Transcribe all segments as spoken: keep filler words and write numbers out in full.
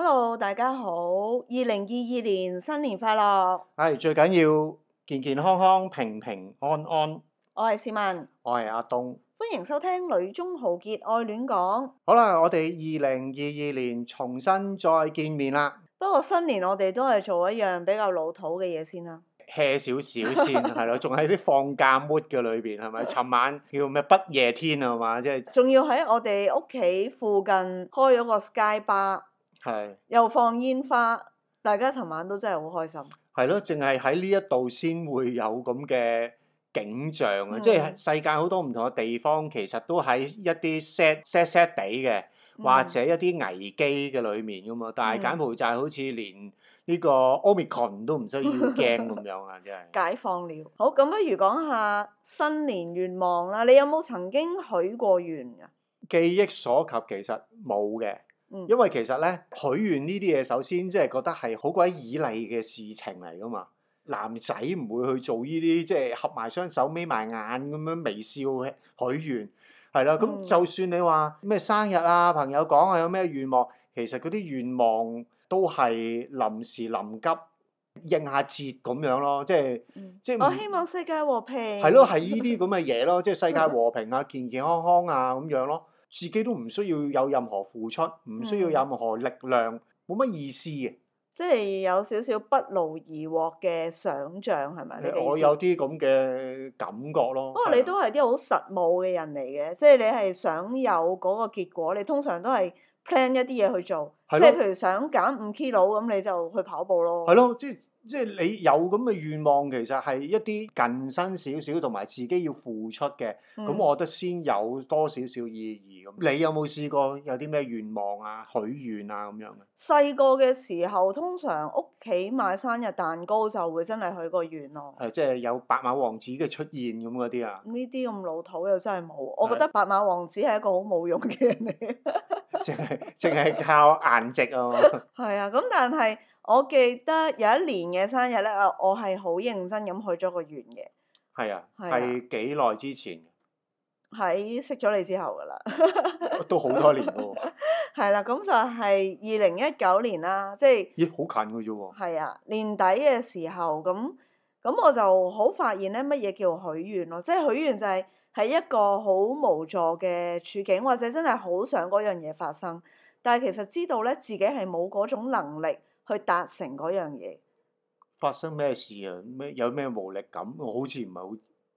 Hello，大家好，二零二二年新年快樂！ 係最緊要健健康康、平平安安。 我係市民， 我係阿東， 歡迎收聽《女中豪傑愛戀講》。 好啦，我哋二零二二年重新再見面啦。 不過新年我哋都係做一樣比較老土嘅嘢先啦。 hea 少少先係咯，仲喺啲放假 mood 嘅裏邊係咪？尋晚叫咩不夜天係嘛？即係仲要喺我哋屋企附近開咗個 Sky Bar， 係又放煙花，大家尋晚都真係好開心。 係咯，淨係喺呢一度先會有咁嘅景象啊！ 嗯、 即係世界好多唔同嘅地方，其實都喺一啲 sad sad sad 地嘅，或者一啲危機嘅裏面噶嘛。嗯、但係柬埔寨好似連呢個 Omicron 都唔需要驚咁樣啊！真係解放了。好，咁不如講下新年願望啦。你有冇曾經許過願㗎？ 記憶所及其實冇嘅， 嗯、 因為其實咧許願呢啲嘢，首先即係覺得係好鬼以利嘅事情嚟噶嘛。男仔唔會去做呢啲即係合埋雙手眯埋眼咁樣微笑許願，係啦。咁、嗯、就算你話咩生日啊，朋友講啊有咩願望，其實嗰啲願望都係臨時臨急應下節咁樣咯，即係、嗯、即係我希望世界和平。 係咯，係呢啲咁嘅嘢咯，即係世界和平啊，健健康康啊咁樣咯，自己都唔需要有任何付出，唔需要有任何力量，冇乜、嗯、意思嘅。 即係有少少不勞而獲嘅想像係咪？ 我有啲咁嘅感覺咯。不過你都係啲好實務嘅人嚟嘅，即係你係想有嗰個結果，你通常都係 plan 一啲嘢去做。即係譬如想減五 kilo 咁，你就去跑步咯。 係咯，即係即係你有咁嘅願望，其實係一啲近身少少，同埋自己要付出嘅。咁、嗯、我覺得先有多少少意義咁。你有冇試過有啲咩願望啊、許願啊咁樣嘅？ 細個嘅時候，通常屋企買生日蛋糕就會真係許個願咯。 係即係有白馬王子嘅出現咁嗰啲啊？ 呢啲咁老土又真係冇。我覺得白馬王子係一個好冇用嘅人嚟。 淨係淨係靠顏值啊！ 係啊，咁但係我記得有一年嘅生日咧，我係好認真咁許咗個願嘅。 係啊，係幾耐之前？ 喺識咗你之後㗎啦。 都好多年喎。 係啦，咁就係二零一九年啦，即係。 咦，好近㗎啫喎。 係啊，年底嘅時候，咁咁我就好發現咧，乜嘢叫許願咯？即係許願就係、是。係一個好無助嘅處境，或者真係好想嗰樣嘢發生，但係其實知道咧自己係冇嗰種能力去達成嗰樣嘢。 發生咩事啊？咩有咩無力感？我好似唔係好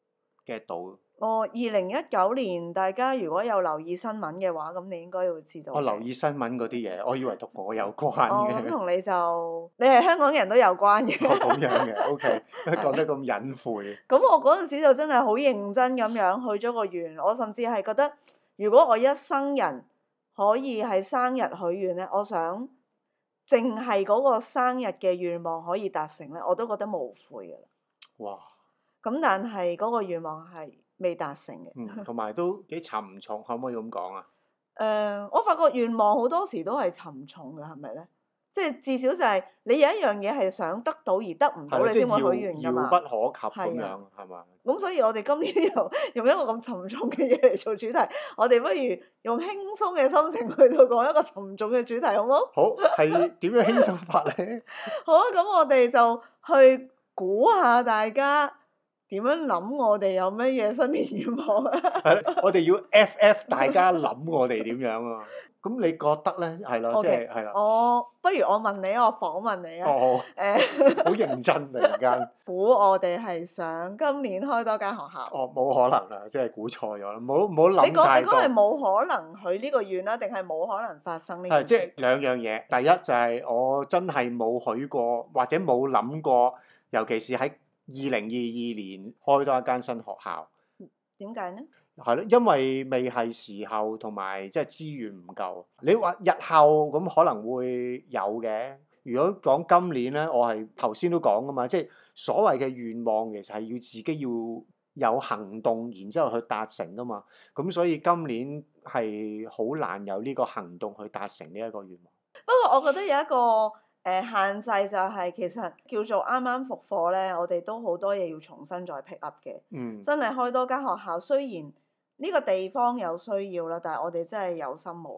get 到。 哦，二零一九年大家如果有留意新聞嘅話，咁你應該會知道。 我留意新聞嗰啲嘢，我以為同我有關嘅。 哦，咁同你就你係香港人都有關嘅。 哦，咁樣嘅，OK，講得咁隱晦。 咁我嗰陣時就真係好認真咁樣許咗個願，我甚至係覺得，如果我一生人可以喺生日許願咧，我想淨係嗰個生日嘅願望可以達成咧，我都覺得無悔㗎啦。 哇！ 咁但係嗰個願望係未達成嘅。 嗯，同埋都幾沉重，可唔可以咁講啊？ 誒、呃，我發覺願望好多時都係沉重嘅，係咪咧？即係至少就係你有一樣嘢係想得到而得唔到，你先會許願㗎嘛。 遙不可及咁樣，係嘛？ 咁所以我哋今年又用一個咁沉重嘅嘢嚟做主題，我哋不如用輕鬆嘅心情去到講一個沉重嘅主題，好唔好？ 好，係點樣輕鬆法咧？ 好啊，咁我哋就去估下大家點樣諗，我哋有乜嘢新年願望啊？ 係，我哋要 F F 大家諗我哋點樣啊？咁你覺得咧？係咯，即係係啦。 我不如我問你，我訪問你啊。 哦。誒。好認真突然間。 估我哋係想今年開多間學校。 哦，冇可能啦，即係估錯咗啦，唔好唔好諗太多。 你講你講係冇可能許呢個願啦，定係冇可能發生呢個？ 係即係兩樣嘢。第一就係我真係冇許過，或者冇諗過，尤其是喺二零二二年開多一間新學校。 點解呢？ 係咯，因為未係時候，同埋即係資源唔夠。你話日後咁可能會有嘅。如果講今年咧，我係頭先都講噶嘛，即係所謂嘅願望其實係要自己要有行動，然之後去達成噶嘛。咁所以今年係好難有呢個行動去達成呢一個願望。 不過我覺得有一個誒、呃、限制就係其實叫做啱啱復課咧，我哋都好多嘢要重新再 pick up 嘅。 嗯。 真係開多間學校，雖然呢個地方有需要啦，但係我哋真係有心無力啦。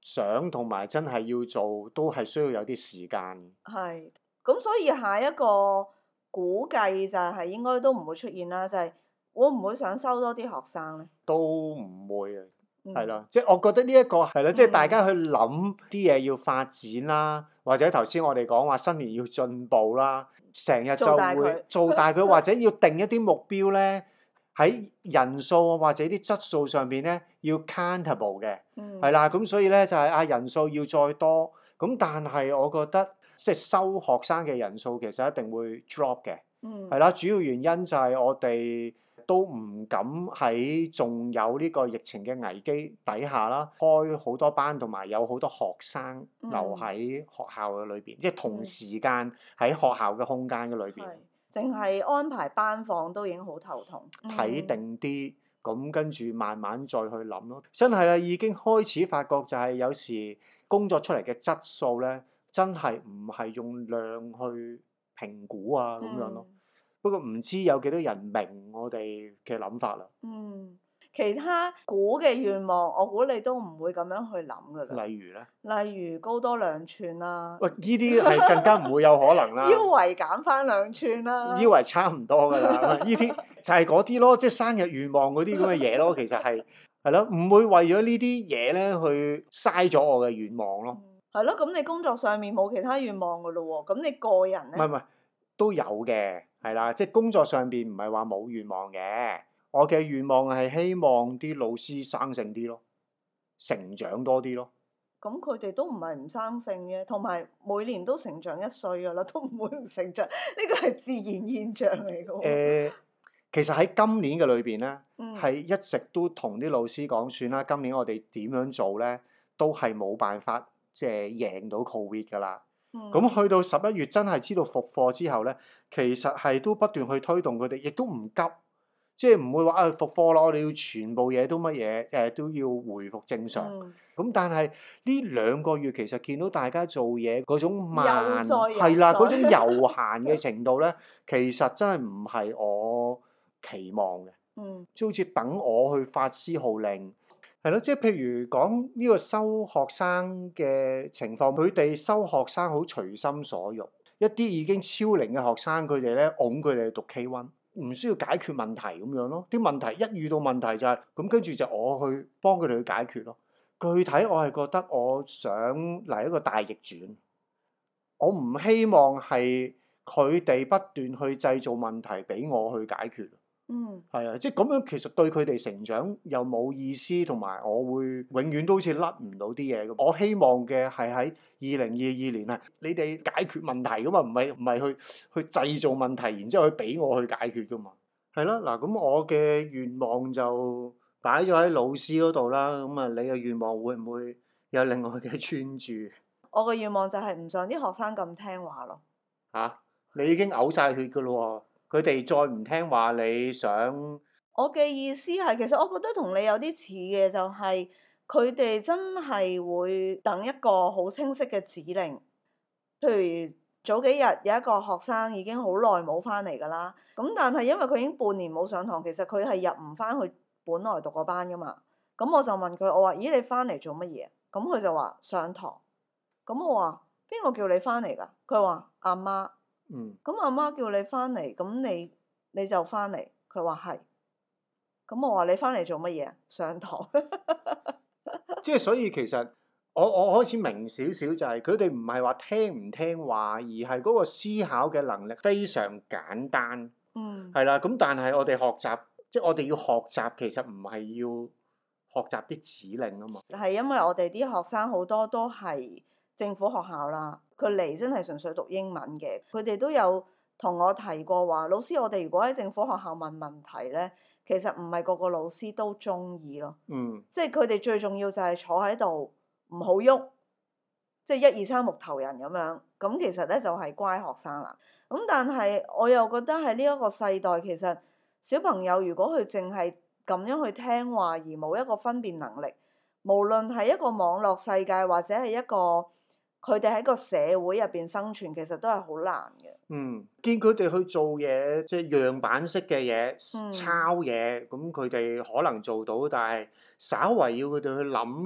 想同埋真係要做，都係需要有啲時間。 係，咁所以下一個估計就係應該都唔會出現啦，就係、會唔會想收多啲學生咧？ 都唔會啊，係啦、 嗯， 即係我覺得呢一個係啦，即係嗯大家去諗啲嘢要發展啦，或者頭先我哋講話新年要進步啦，成日就做大佢會做大佢，或者要定一啲目標咧，喺人數或者啲質素上邊咧要 countable 嘅， 嗯， 係啦，咁所以咧就係、啊人數要再多，咁但係我覺得即係收學生嘅人數其實一定會 drop 嘅。 嗯， 係啦，主要原因就係我哋都唔敢喺仲有呢個疫情嘅危機底下啦，開好多班同埋有好多學生留喺學校嘅裏邊，即係同時間喺學校嘅空間嘅裏邊， 係，淨係安排班房都已經好頭痛。 睇定啲，咁跟住慢慢再去諗咯。真係啊，已經開始發覺就係有時工作出嚟嘅質素咧，真係唔係用量去評估啊咁樣咯。不過唔知有幾多人明我哋嘅諗法啦。 嗯，其他估嘅願望，我估你都唔會咁樣去諗噶啦。 例如咧， 例如高多兩寸啦， 喂，呢啲係更加唔會有可能啦。 腰圍減翻兩寸啦， 腰圍差唔多㗎啦，呢啲就係嗰啲咯，即係生日願望嗰啲咁嘅嘢咯。其實係係咯，唔會為咗呢啲嘢咧去嘥咗我嘅願望咯。 係咯，咁你工作上面冇其他願望噶咯喎，咁你個人咧？ 唔係唔係，都有嘅，係啦，即係工作上邊唔係話冇願望嘅。我嘅願望係希望啲老師生性啲咯，成長多啲咯。 咁佢哋都唔係唔生性嘅，同埋每年都成長一歲噶啦，都唔會唔成長，呢個係自然現象嚟嘅喎。 誒，其實喺今年嘅裏邊咧， 嗯， 係一直都同啲老師講，算啦，今年我哋點樣做咧，都係冇辦法即係贏到 Covid 㗎啦。 嗯， 咁去到十一月真係知道復課之後咧，其實係都不斷去推動佢哋，亦都唔急，即係唔會話啊復課咯，我哋要全部嘢都乜嘢誒都要回復正常。 嗯咁但係呢兩個月其實見到大家做嘢嗰種慢悠哉悠哉係啦，嗰種悠閒嘅程度咧，其實真係唔係我期望嘅， 嗯即係好似等我去發施號令，係咯，即係譬如講呢個收學生嘅情況，佢哋收學生好隨心所欲，一啲已經超齡嘅學生，佢哋咧擁佢哋去讀 K 一，唔需要解決問題咁樣咯。啲問題一遇到問題就係咁，跟住就我去幫佢哋去解決咯。具體我係覺得我想嚟一個大逆轉，我唔希望係佢哋不斷去製造問題俾我去解決。 嗯， 係啊，即係咁樣其實對佢哋成長又冇意思，同埋我會永遠都好似甩唔到啲嘢咁。我希望嘅係喺二零二二年啊，你哋解決問題噶嘛，唔係唔係去去製造問題，然之後去俾我去解決噶嘛。係咯，嗱咁我嘅願望就擺咗喺老師嗰度啦，咁啊，你嘅願望會唔會有另外嘅專注？ 我嘅願望就係唔想啲學生咁聽話咯。 嚇、啊，你已經嘔晒血噶咯喎，佢哋再唔聽話，你想？ 我嘅意思係，其實我覺得同你有啲似嘅，就係佢哋真係會等一個好清晰嘅指令。譬如早幾日有一個學生已經好耐冇翻嚟㗎啦，咁但係因為佢已經半年冇上堂，其實佢係入唔翻去本來讀嗰班㗎嘛。咁我就問佢，我話：咦，你翻嚟做乜嘢？咁佢就話上堂。咁我話：邊個叫你翻嚟㗎？佢話阿媽。 嗯。 咁阿媽叫你翻嚟，咁你你就翻嚟。佢話係。咁我話你翻嚟做乜嘢？上堂。 即係所以其實我我開始明少少就係佢哋唔係話聽唔聽話，而係嗰個思考嘅能力非常簡單。 嗯。 係啦，咁但係我哋學習，即係我哋要學習，其實唔係要學習啲指令啊嘛。 係因為我哋啲學生好多都係政府學校啦，佢嚟真係純粹讀英文嘅。佢哋都有同我提過話，老師，我哋如果喺政府學校問問題咧，其實唔係個個老師都中意咯。 嗯。 即係佢哋最重要就係坐喺度唔好喐，即係一二三木頭人咁樣。咁其實咧就係乖學生啦。咁但係我又覺得喺呢一個世代，其實小朋友如果佢淨係咁樣去聽話而冇一個分辨能力，無論係一個網絡世界或者係一個佢哋喺個社會入邊生存，其實都係好難嘅。 嗯，見佢哋去做嘢，即係樣板式嘅嘢， 嗯抄嘢，咁佢哋可能做到，但係稍為要佢哋去諗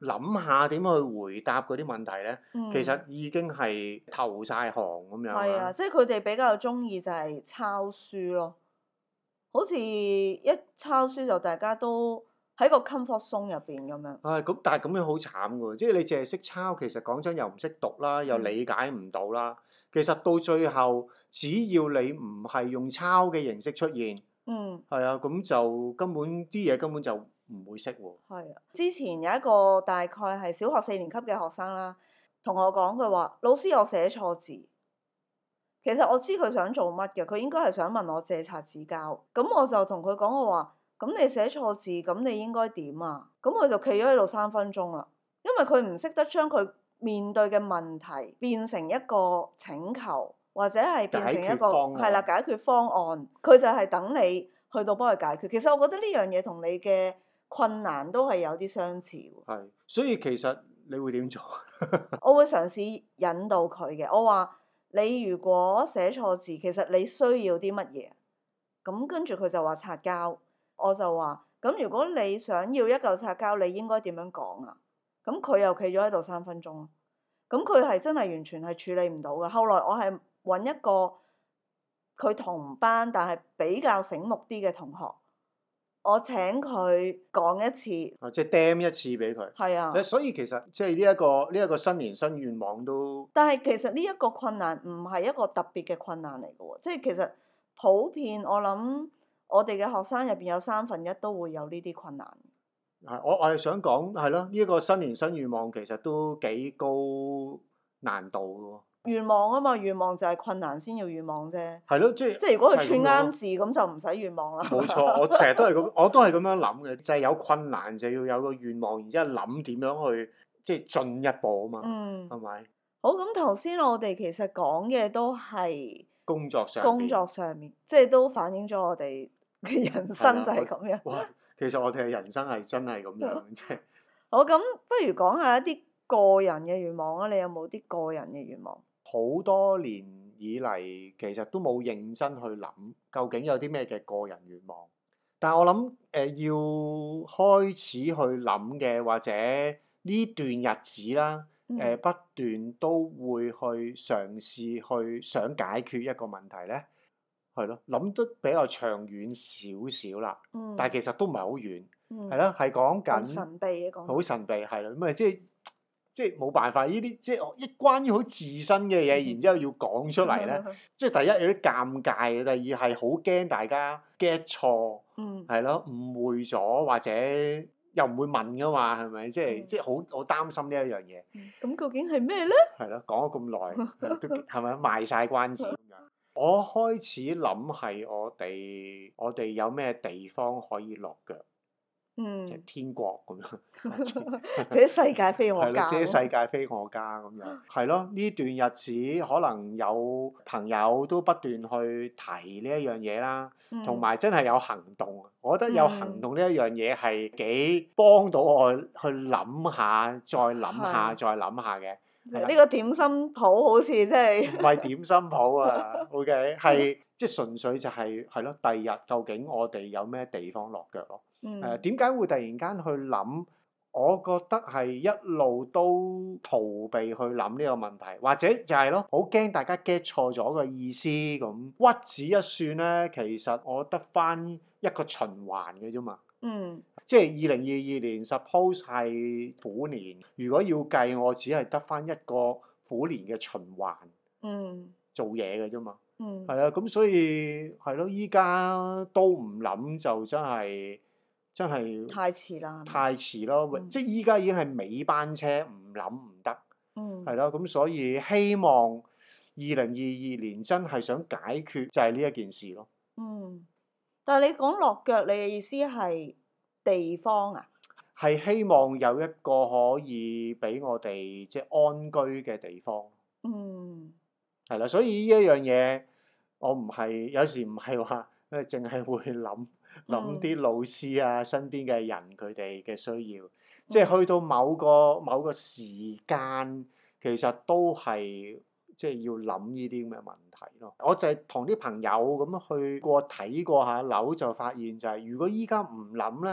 諗下點去回答嗰啲問題咧， 嗯其實已經係投晒行咁樣係啊，即係佢哋比較中意就係抄書咯，好似一抄書就大家都喺個 comfort zone 入邊咁樣。 唉，咁但係咁樣好慘㗎喎，即係你淨係識抄，其實講真又唔識讀啦，又嗯理解唔到啦。其實到最後，只要你唔係用抄嘅形式出現， 嗯， 係啊，咁就根本啲嘢根本就唔會識喎。 係啊。之前有一個大概係小學四年級嘅學生啦，同我講佢話：老師，我寫錯字。其實我知佢想做乜嘅，佢應該係想問我借擦紙膠。咁我就同佢講我話：咁你寫錯字，咁你應該點啊？咁佢就企咗喺度三分鐘啦，因為佢唔識得將佢面對嘅問題變成一個請求，或者係變成一個係啦解決方案。佢就係等你去到幫佢解決。其實我覺得呢樣嘢同你嘅困難都係有啲相似喎。 係，所以其實你會點做？ 我會嘗試引導佢嘅，我話。你如果寫錯字，其實你需要啲乜嘢？咁跟住佢就話擦膠，我就話：咁如果你想要一嚿擦膠，你應該點樣講啊？咁佢又企咗喺度三分鐘，咁佢係真係完全係處理唔到嘅。後來我係揾一個佢同班但係比較醒目啲嘅同學，我請佢講一次， 啊，即係 dam 一次俾佢。 係啊。 所以其實即係呢一個呢一個新年新願望都。 但係其實呢一個困難唔係一個特別嘅困難嚟嘅喎，即係其實普遍我諗我哋嘅學生入邊有三分一都會有呢啲困難。 係，我我係想講係咯，呢一個新年新願望其實都幾高難度嘅喎。 願望啊嘛，願望就係困難先要願望啫。 係咯，即係即係如果佢就係咁樣咯串啱字，咁就唔使願望啦。 冇錯，我成日都係咁，我都係咁樣諗嘅，就係有困難就要有個願望，然之後諗點樣去即係進一步啊嘛， 嗯， 係咪？ 好，咁頭先我哋其實講嘅都係工作上工面作上面，即係都反映咗我哋嘅人生就係咁樣。 哇，其實我哋嘅人生係真係咁樣，即係好，咁不如講下一啲個人嘅願望啊！你有冇啲個人嘅願望？ 好多年以嚟，其實都冇認真去諗究竟有啲咩嘅個人願望。但係我諗誒、呃，要開始去諗嘅，或者呢段日子啦，誒、呃、不斷都會去嘗試去想解決一個問題咧，係咯，諗得比較長遠少少啦。 嗯、 但係其實都唔係好遠，係嗯、 咯，係講緊神秘嘅講， 好神秘係啦，咁啊即係。即係冇辦法，呢啲即係一關於好自身嘅嘢，然之後要講出嚟咧，即係第一有啲尷尬嘅，第二係好驚大家 get 錯，係咯、嗯、誤會咗或者又唔會問噶嘛，係咪？即係、嗯、即係好好擔心呢一樣嘢。咁、 嗯、究竟係咩咧？ 係咯，講咗咁耐，都係咪賣晒關子咁樣？我開始諗係我哋我哋有咩地方可以落腳。 嗯， 即係天國咁樣， 這世界非我家， 這世界非我家咁樣，係咯。呢段日子可能有朋友都不斷去提呢一樣嘢啦，同埋、嗯、真係有行動。我覺得有行動呢一樣嘢係幾幫到我去諗下，再諗下，的再諗下嘅。 呢個點心鋪好似即係唔係點心鋪啊，OK，係即係純粹就係係咯。第二日究竟我哋有咩地方落腳咯？誒點解會突然間去諗？我覺得係一路都逃避去諗呢個問題，或者就係咯，好驚大家 get 錯咗個意思咁。屈指一算咧，其實我得翻一個循環嘅啫嘛。嗯。即係二零二二年 suppose 係虎年，如果要計，我只係得翻一個虎年嘅循環。嗯。做嘢嘅啫嘛。嗯。係啊，咁所以係咯，依家都唔諗就真係。真係太遲啦！ 太遲咯，嗯、即係依家已經係尾班車，唔諗唔得，係咯、嗯。咁所以希望二零二二年真係想解決就係呢一件事咯。嗯， 但係你講落腳，你嘅意思係地方啊？ 係希望有一個可以俾我哋即係安居嘅地方。嗯，係啦，所以呢一樣嘢，我唔係有時唔係話誒，淨係會諗。諗啲老師啊，身邊嘅人佢哋嘅需要，即係去到某個某個時間，其實都係即係要諗呢啲咁嘅問題咯。我就係同啲朋友咁去過睇過下樓，就發現就係如果依家唔諗咧，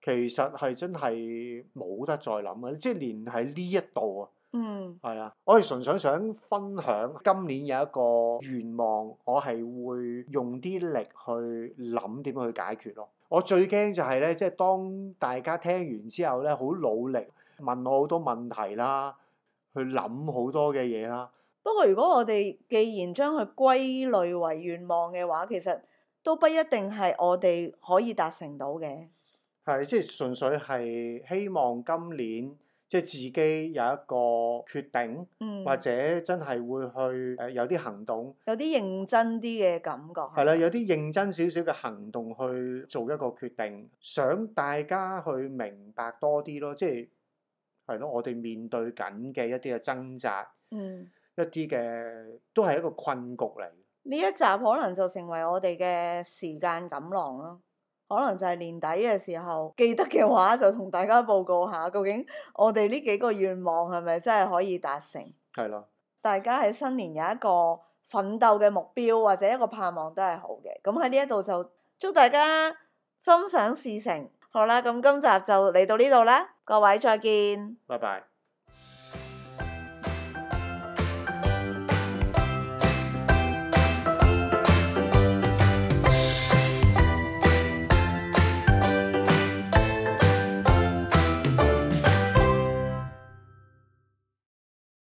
其實係真係冇得再諗啊！即係連喺呢一度啊， 嗯係啊，我係純粹想分享今年有一個願望，我係會用啲力去諗點樣去解決咯。我最驚就係咧，即係當大家聽完之後咧，好努力問我好多問題啦，去諗好多嘅嘢啦。 不過如果我哋既然將佢歸類為願望嘅話，其實都不一定係我哋可以達成到嘅。 係，即係純粹係希望今年即係自己有一個決定， 嗯， 或者真係會去誒有啲行動， 有啲認真啲嘅感覺。 係啦，有啲認真少少嘅行動去做一個決定，想大家去明白多啲咯，即係係咯，我哋面對緊嘅一啲嘅掙扎， 嗯， 一啲嘅都係一個困局嚟。 呢一集可能就成為我哋嘅時間錦囊咯。可能就係年底嘅時候，記得嘅話就同大家報告下，究竟我哋呢幾個願望係咪真係可以達成？ 係咯， 大家喺新年有一個奮鬥嘅目標或者一個盼望都係好嘅。咁喺呢一度就祝大家心想事成。好啦，咁今集就嚟到呢度啦，各位再見。 拜拜。